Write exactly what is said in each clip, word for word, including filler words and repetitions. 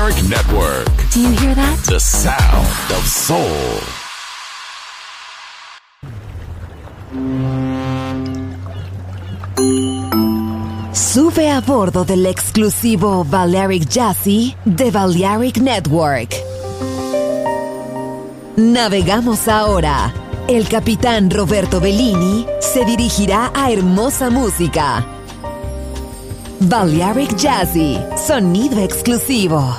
Balearic Network. Do you hear that? The sound of soul. Sube a bordo del exclusivo Balearic Jazzy de Balearic Network. Navegamos ahora. El capitán Roberto Bellini se dirigirá a hermosa música. Balearic Jazzy, sonido exclusivo.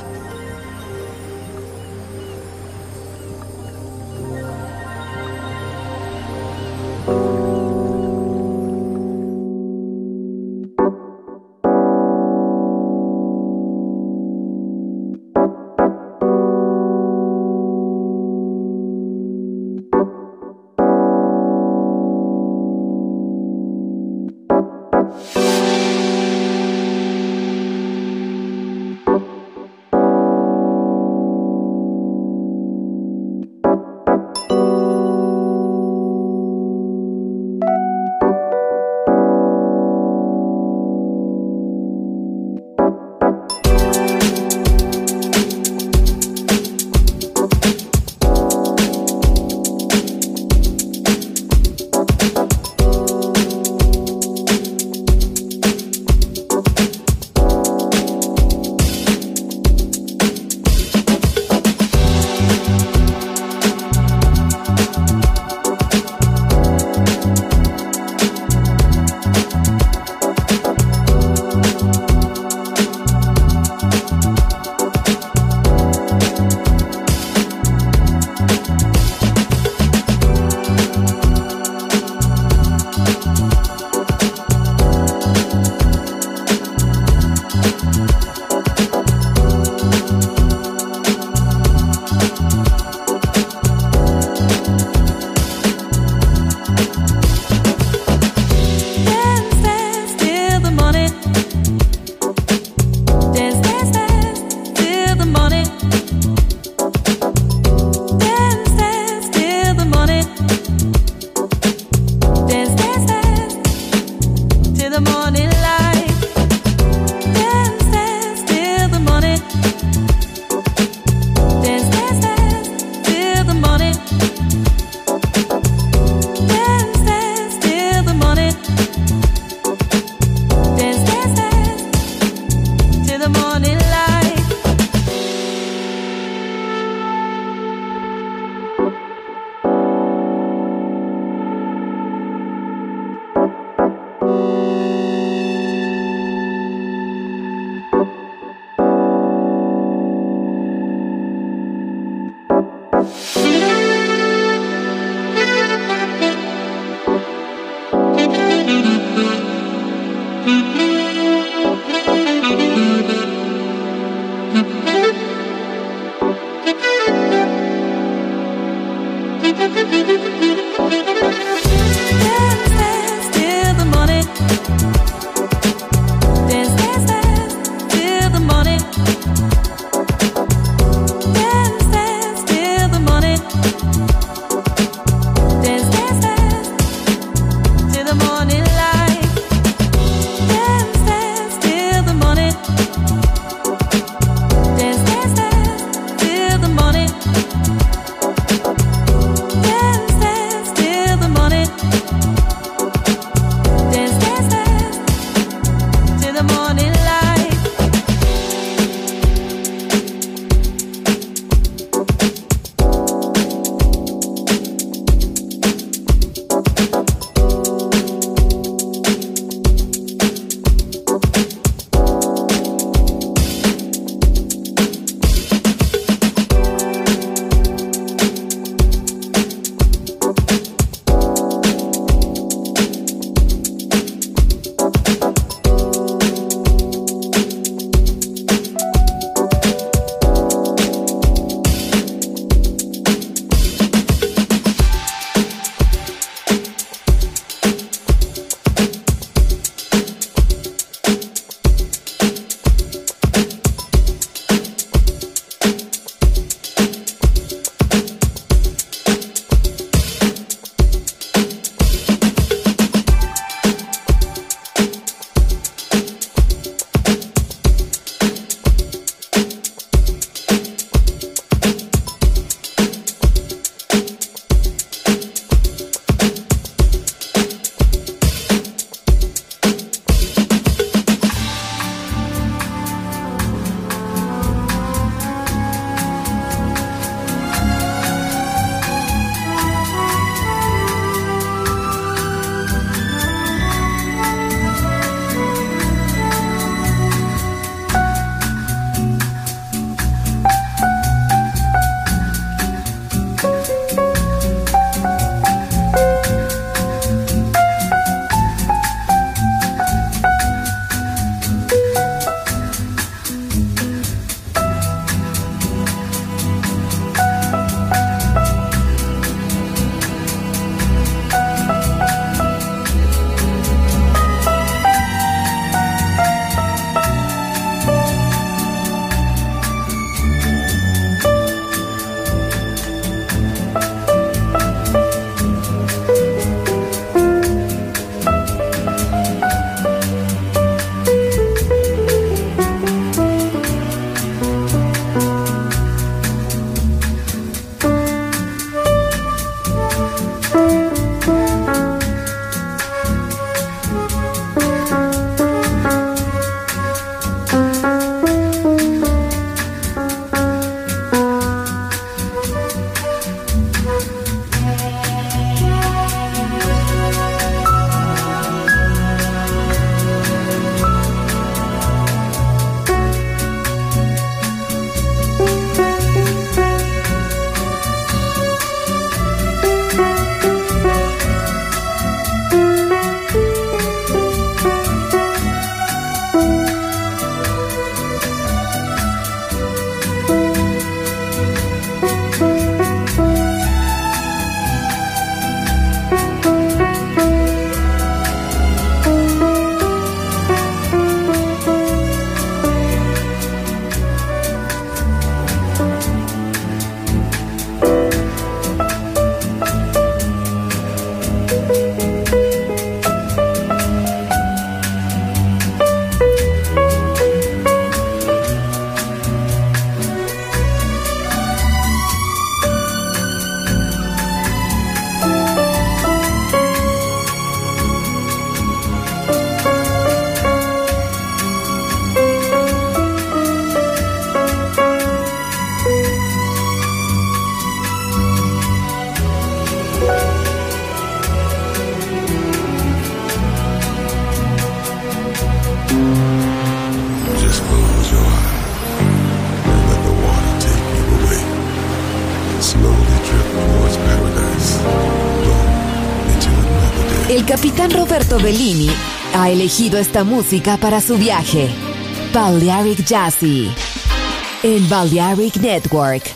capitán Roberto Bellini ha elegido esta música para su viaje. Balearic Jazzy en Balearic Network.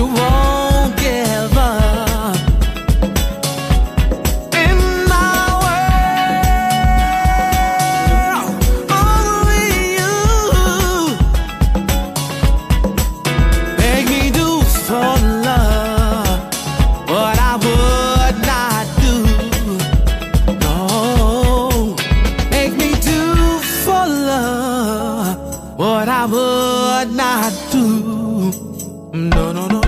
won't give up. In my world, only you make me do for love what I would not do. No, make me do for love what I would not do. No, no, no, no.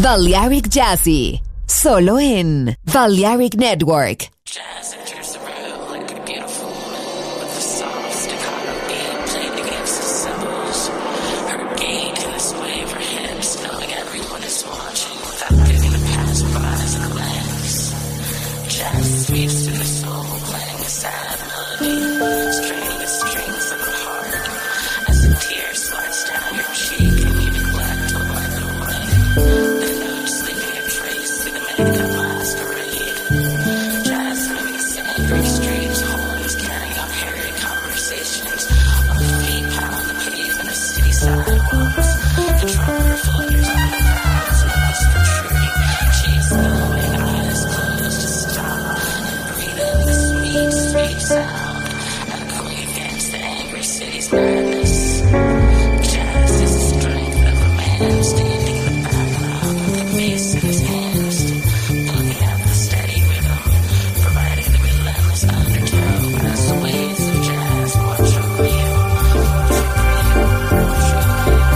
Balearic Jazzy, solo en Balearic Network. Jazz enters the room like a beautiful woman with a soft staccato beat played against the cymbals. Her gait in the sway of her hips, knowing everyone is watching without giving the passerbys a glance. Jazz sweeps through the soul, playing a sad melody, straining the strings of the heart. As a tear slides down your cheek and you neglect to wipe it away, the notes leaving a trace through the makeup masquerade. Jazz moving angry streets, horns carrying out hairy conversations. On the feet pound the pavement of city sidewalks. The drummer flutters on the paths, nose protruding, cheeks glowing, eyes closed to stop, and breathe in the sweet, sweet sound, echoing against the angry city's madness. Jazz is the strength of a man standing in the background with a mace in his hands, looking at the steady rhythm, providing the relentless undertow as the waves of jazz watch over you, watch over you, watch over you.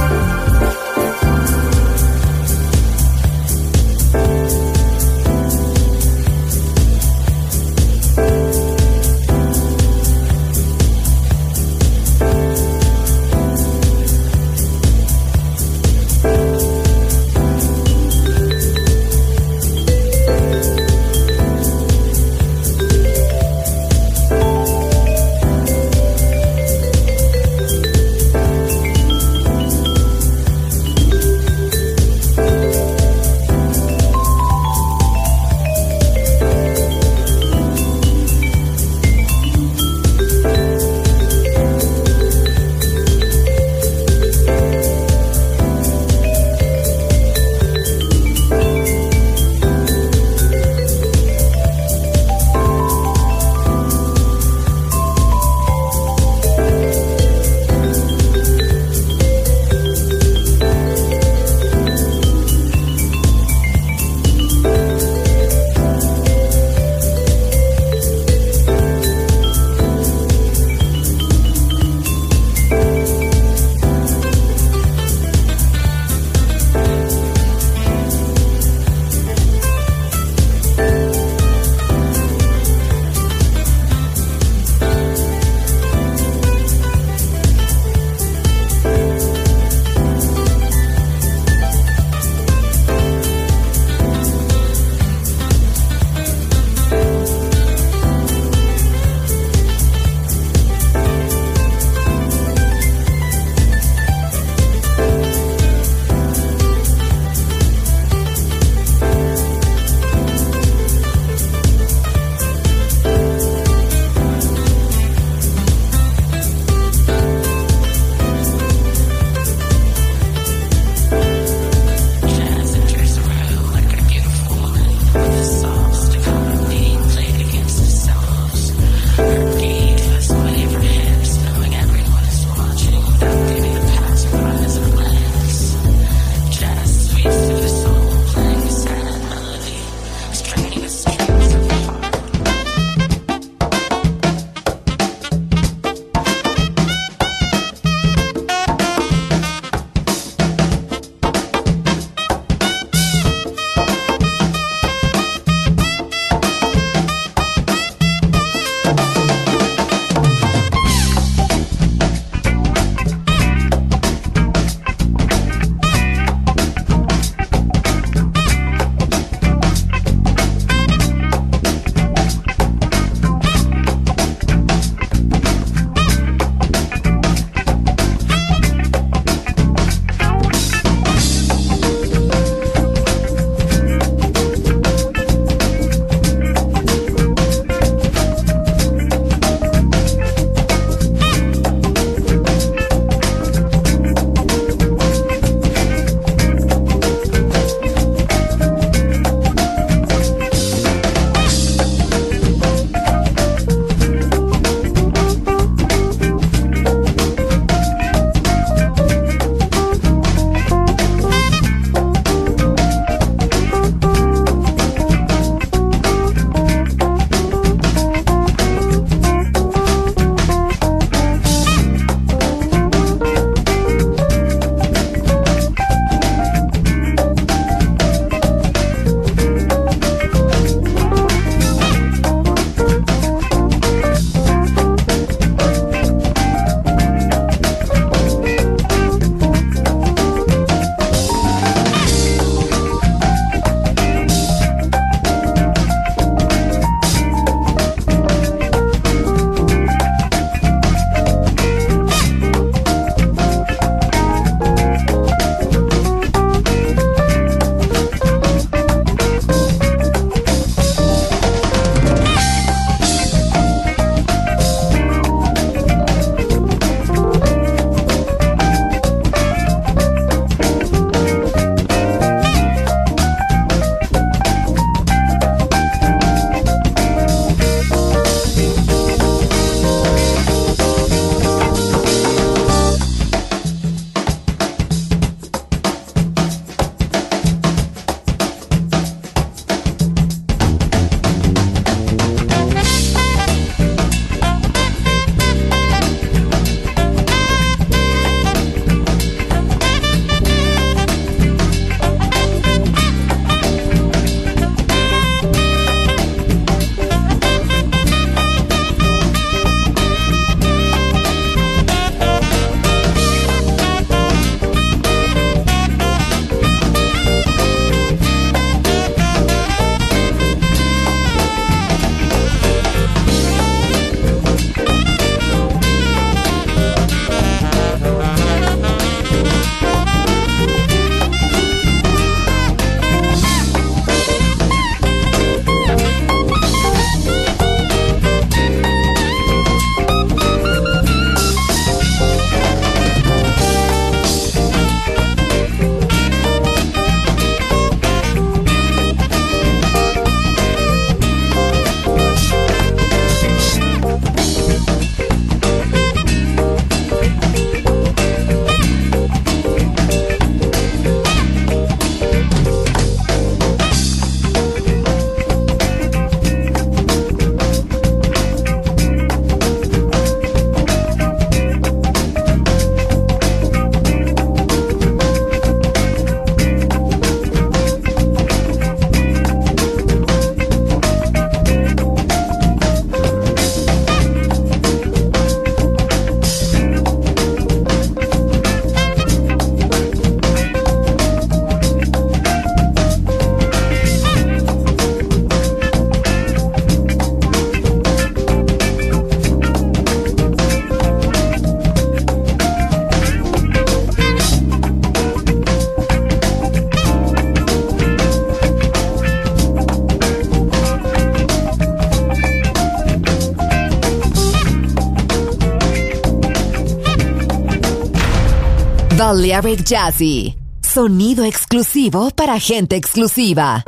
Balearic Jazzy. Sonido exclusivo para gente exclusiva.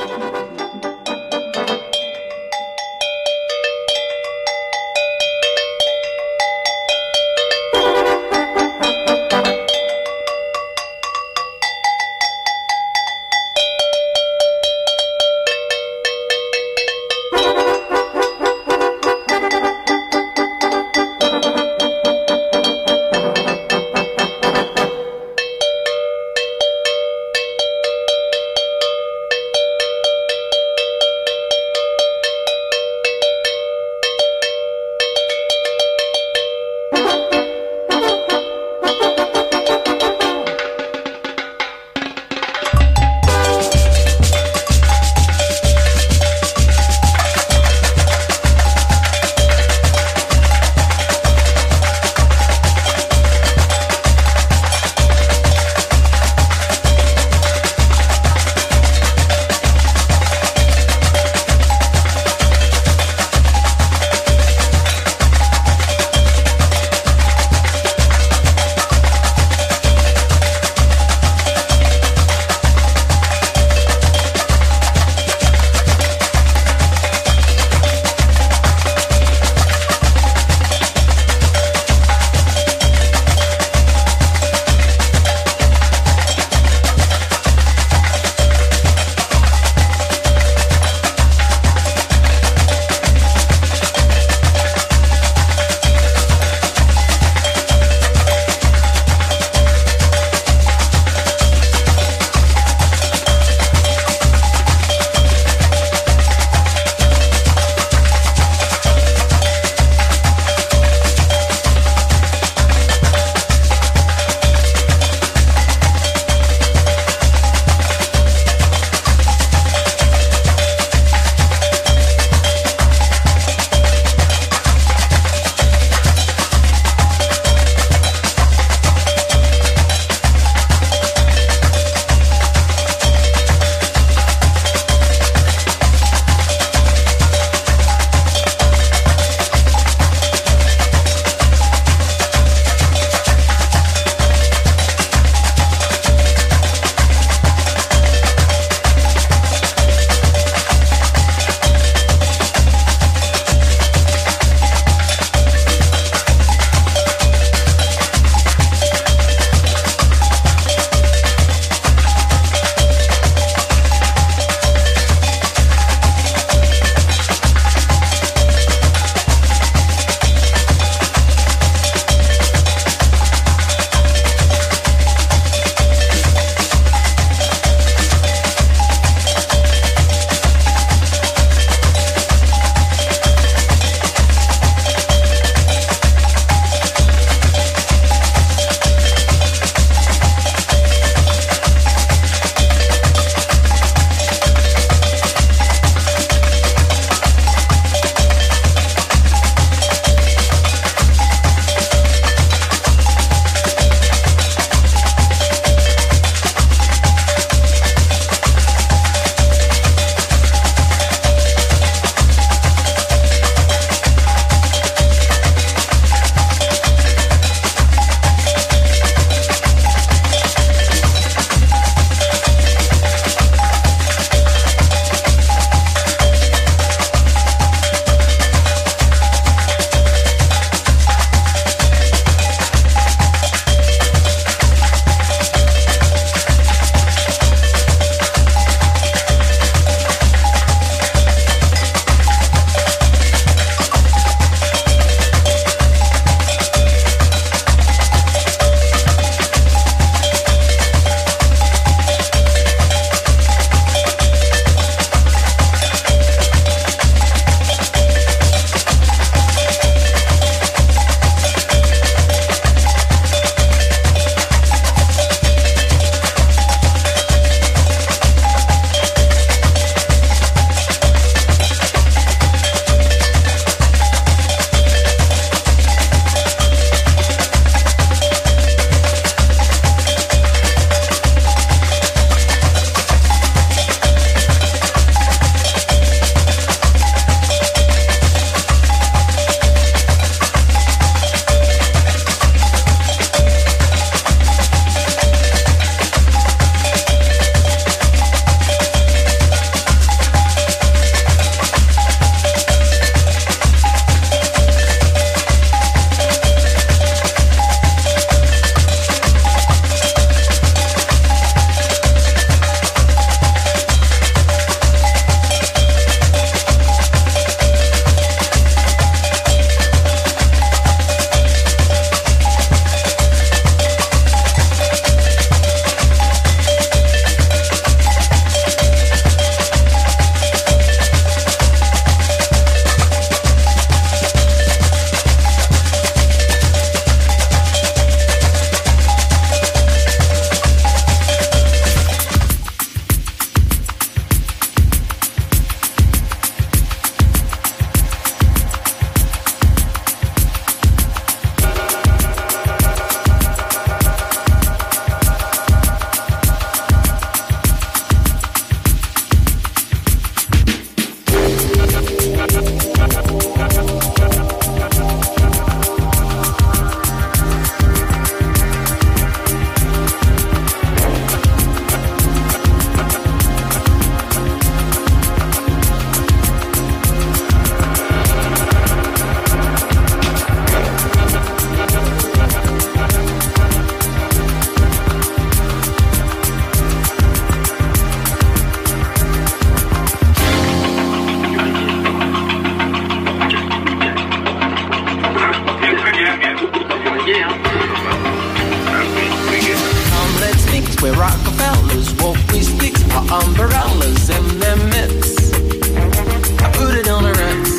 where Rockefellers walk with sticks or umbrellas in their midst. I put it on a Ritz.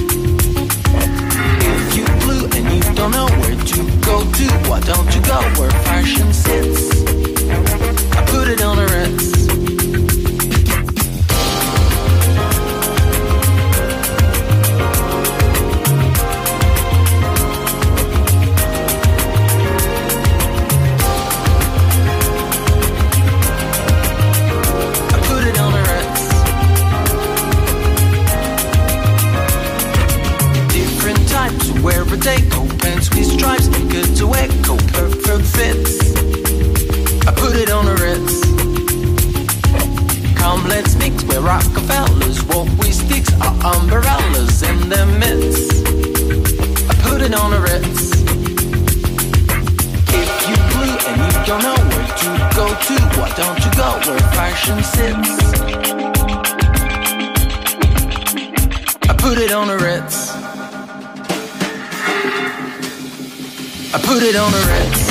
If you blue and you don't know where to go to, why don't you go where fashion sits? I put it on a Ritz. Wherever they go, pants with stripes, good to echo, perfect fits. I put it on a Ritz. Come, let's mix where Rockefellers walk with sticks or umbrellas in their midst. I put it on a Ritz. If you blue and you don't know where to go to, why don't you go where fashion sits? I put it on a Ritz. I put it on a Ritz.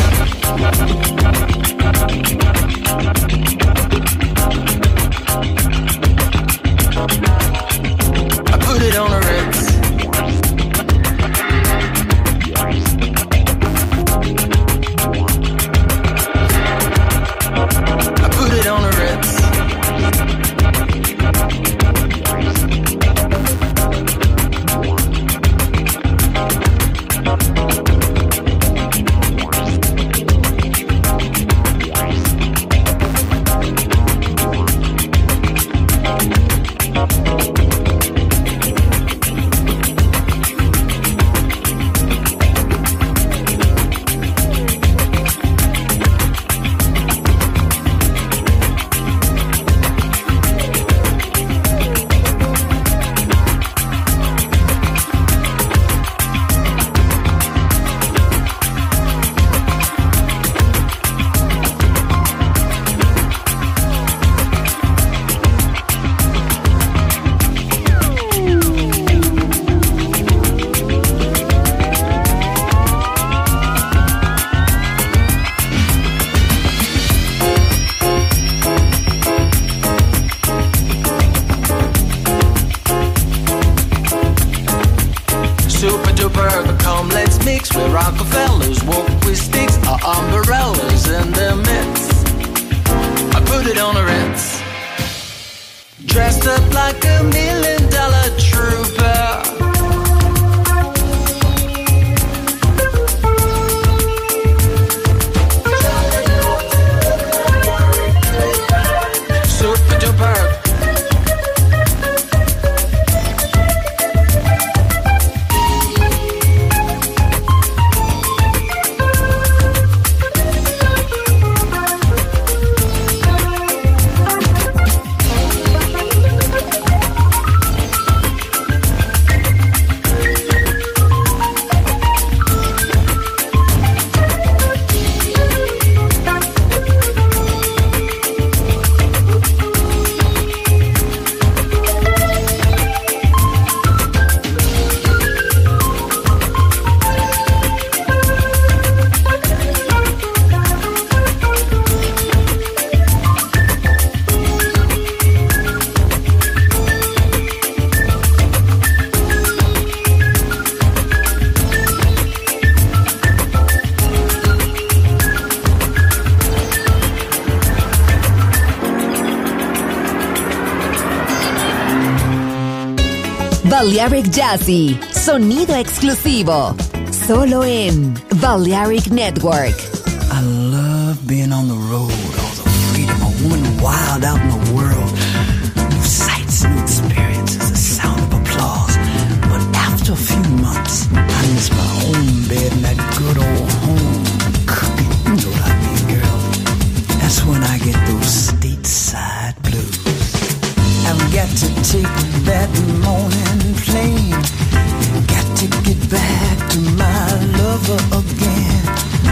I put it on a Ritz. I put it on a Ritz. Balearic Jazzy, sonido exclusivo, solo en Balearic Network. I love being on the road, all the freedom, a woman wild out in the world, new sights and experiences, the sound of applause. But after a few months, I miss my own bed and that good old home cooking. You know what I mean, girl? That's when I get those stateside blues. I've got to take that morning plane, got to get back to my lover again.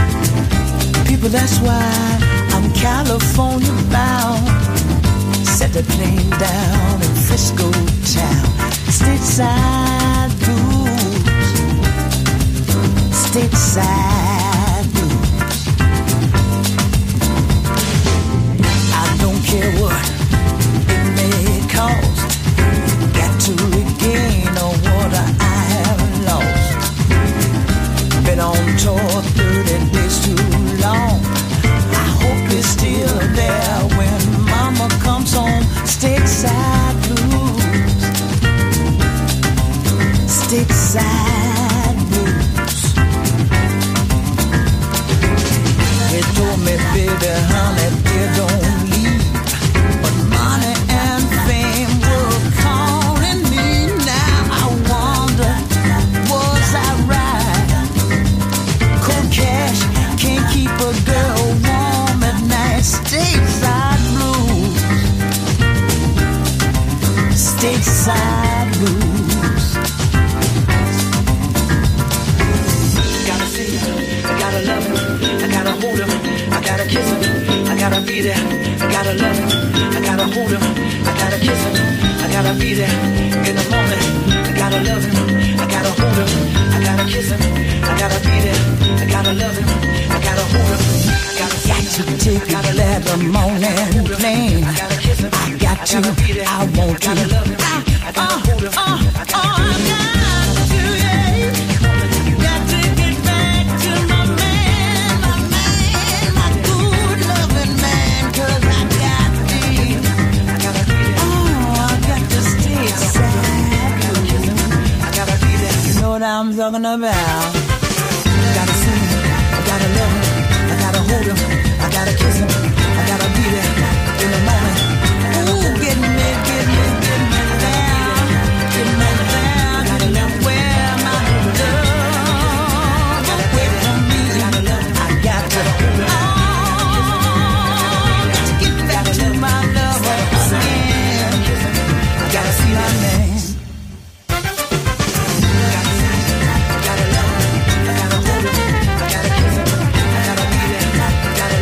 People, that's why I'm California bound. Set the plane down in Frisco town. Stateside blues, stateside blues. baby, honey, they don't leave. But money and fame were calling me. Now I wonder, was I right? Cold cash can't keep a girl warm at night. Stateside blues, stateside blues. Gotta see her, I gotta love her, I gotta hold her, I gotta kiss her, I gotta be there, I gotta love her, I gotta hold her, I gotta kiss her, I gotta be there in the morning, I gotta love him, I gotta hold him, I gotta kiss him, I gotta be there, I gotta love him, I gotta hold him, I gotta got to take a leather morning plane. I gotta kiss him, I got to, I want to, I gotta love him, I gotta hold him, I gotta hold him. I'm talking about. Gotta see him, I gotta love him, I gotta hold him, I gotta kiss him, I gotta be there in the moment. Ooh, get me, get me, get me down, get me down, gotta love where my love away from me. I got to, oh, got to get back to my love again. I gotta see my name. Gotta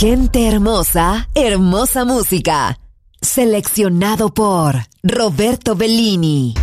Gente hermosa, hermosa música. Seleccionado por Roberto Bellini.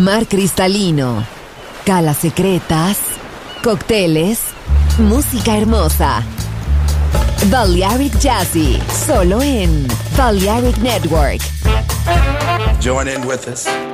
mar cristalino, calas secretas, cócteles, música hermosa. Balearic Jazzy, solo en Balearic Network. Join in with us.